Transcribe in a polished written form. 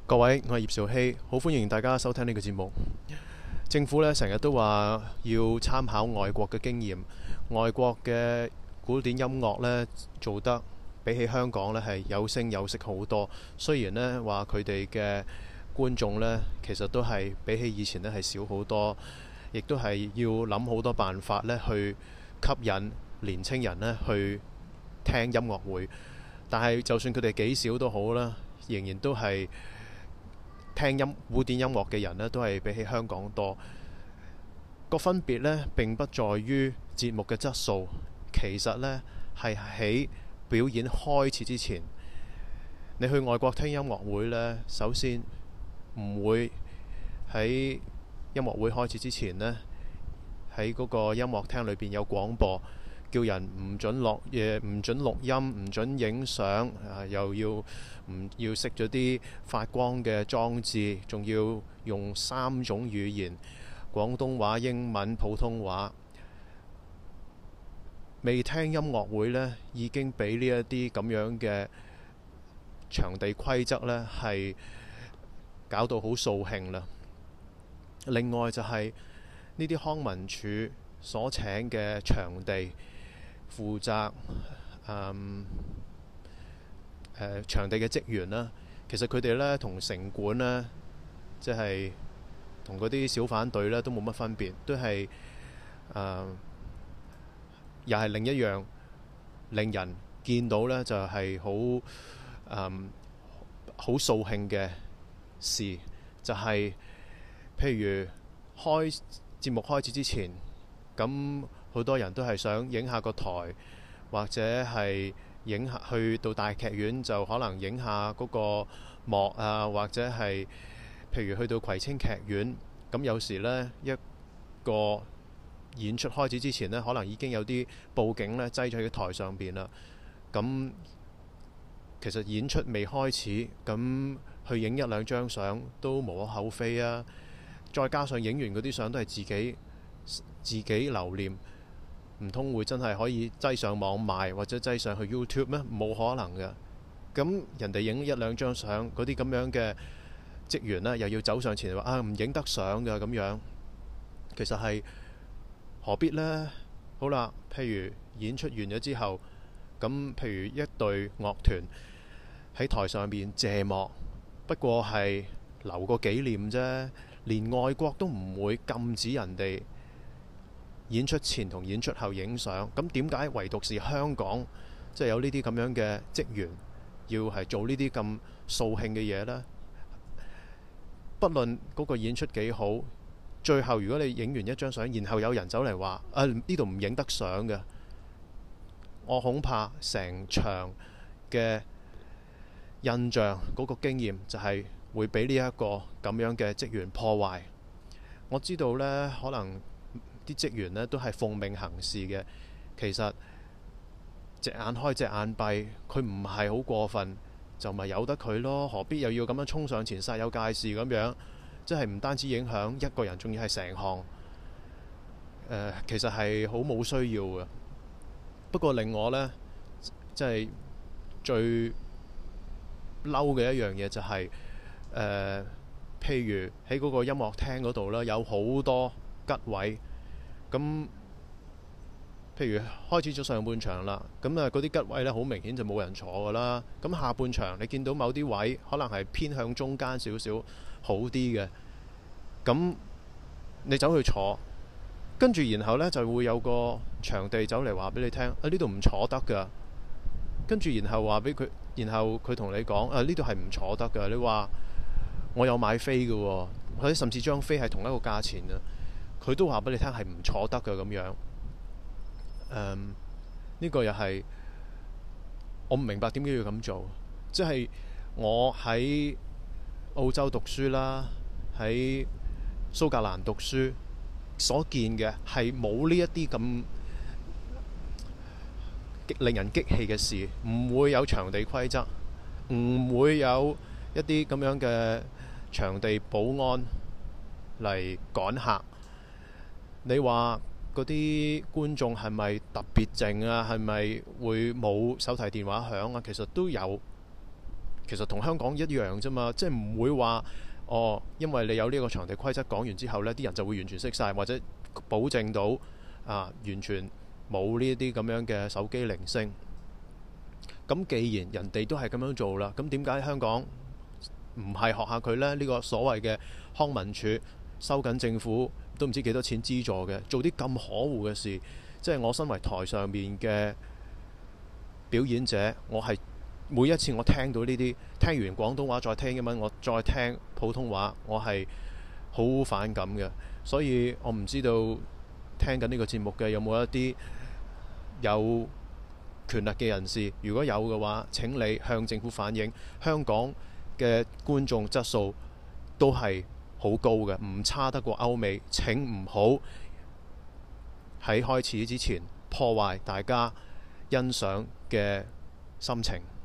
各位，我係葉兆禧，好歡迎大家收聽呢個節目。政府呢成日都話要參考外國嘅經驗，外國嘅古典音樂呢做得比起香港呢係有聲有色好多。雖然呢話佢哋嘅觀眾呢其實都係比起以前呢係少好多，亦都係要諗好多辦法呢去吸引年青人呢去聽音樂會。但係就算佢哋幾少都好啦，仍然都係聽古典音樂嘅人呢都係比起香港多。個分別呢並不在於節目嘅質素，其實呢係喺表演開始之前。你去外國聽音樂會呢，首先唔會喺音樂會開始之前呢，喺嗰個音樂廳裏邊有廣播，叫人唔準落嘢，唔準錄音，唔準影相，又要熄咗啲發光嘅裝置，仲要用3種語言：廣東話、英文、普通話。未聽音樂會呢，已經俾呢一啲咁樣嘅場地規則呢係搞到好掃興啦。另外就係呢啲康文署所請嘅場地負責場地嘅職員啦，其實佢哋呢同城管呢，即係同嗰啲小販隊呢都冇乜分別，都係又係另一樣令人見到呢就係好掃興嘅事，就係譬如節目開始之前，咁好多人都係想影下個台，或者係去到大劇院就可能影下嗰個幕啊，或者係譬如去到葵青劇院，咁有時呢一個演出開始之前呢，可能已經有啲佈景呢擠咗喺台上邊啦。咁其實演出未開始，咁去影1-2張相都無可厚非啊。再加上影完嗰啲相都係自己留念，唔通會真係可以擠上網賣，或者擠上去 YouTube 咩？冇可能嘅。咁人哋影1-2張相，嗰啲咁樣嘅職員呢，又要走上前話唔影得相㗎咁樣，其實係何必呢？好啦，譬如演出完咗之後，咁譬如一隊樂團喺台上面謝幕，不過係留個紀念啫。連外國都唔會禁止人哋演出前同演出後影相，咁點解唯獨是香港即係有呢啲咁樣嘅職員要係做呢啲咁掃興嘅嘢呢？不論嗰個演出幾好，最後如果你影完一張相，然後有人走嚟話呢度唔影得相嘅，我恐怕成場嘅印象嗰個經驗就係會俾呢一個咁樣嘅職員破壞。我知道呢，可能啲職員呢都係奉命行事嘅，其實隻眼開隻眼閉，佢唔係好過分，就咪由得佢咯，何必又要咁樣衝上前煞有介事咁樣？即係唔單止影響一個人，仲要係成行，其實係好冇需要嘅。不過令我呢，即係最嬲嘅一樣嘢就係譬如喺嗰個音樂廳嗰度呢，有好多吉位，咁譬如開始咗上半場啦，咁嗰啲吉位呢，好明顯就冇人坐噶啦。咁下半場你見到某啲位可能係偏向中間少少好啲嘅，咁你走去坐，跟住然後呢，就會有個場地走嚟話俾你聽，呢度唔坐得噶。跟住然後話俾佢，然後佢同你講呢度係唔坐得噶。你話我有買飛嘅喎，或者甚至張飛係同一個價錢啊，佢都話俾你聽係唔坐得嘅咁樣。呢個又係我唔明白點解要咁做。即係我喺澳洲讀書啦，喺蘇格蘭讀書所見嘅係冇呢一啲咁令人激氣嘅事，唔會有場地規則，唔會有一啲咁樣嘅場地保安嚟趕客。你話嗰啲觀眾係咪特別靜啊？係咪會冇手提電話響啊？其實都有其實同香港一樣啫嘛，即係唔會話哦，因為你有呢個場地規則講完之後呢，啲人就會完全識晒，或者保證到完全冇呢啲咁樣嘅手機鈴聲。咁既然人哋都係咁樣做啦，咁點解香港唔係學下佢呢？呢個所謂嘅康文署收緊政府都唔知幾多錢資助嘅，做啲咁可惡嘅事，即係我身為台上面嘅表演者，我係每一次我聽到呢啲，聽完廣東話再聽英文，我再聽普通話，我係好反感嘅。所以我唔知道聽緊呢個節目嘅有冇一啲有權力嘅人士，如果有嘅話，請你向政府反映，香港嘅觀眾質素都係好高嘅，唔差得過歐美。請唔好喺開始之前破壞大家欣賞嘅心情。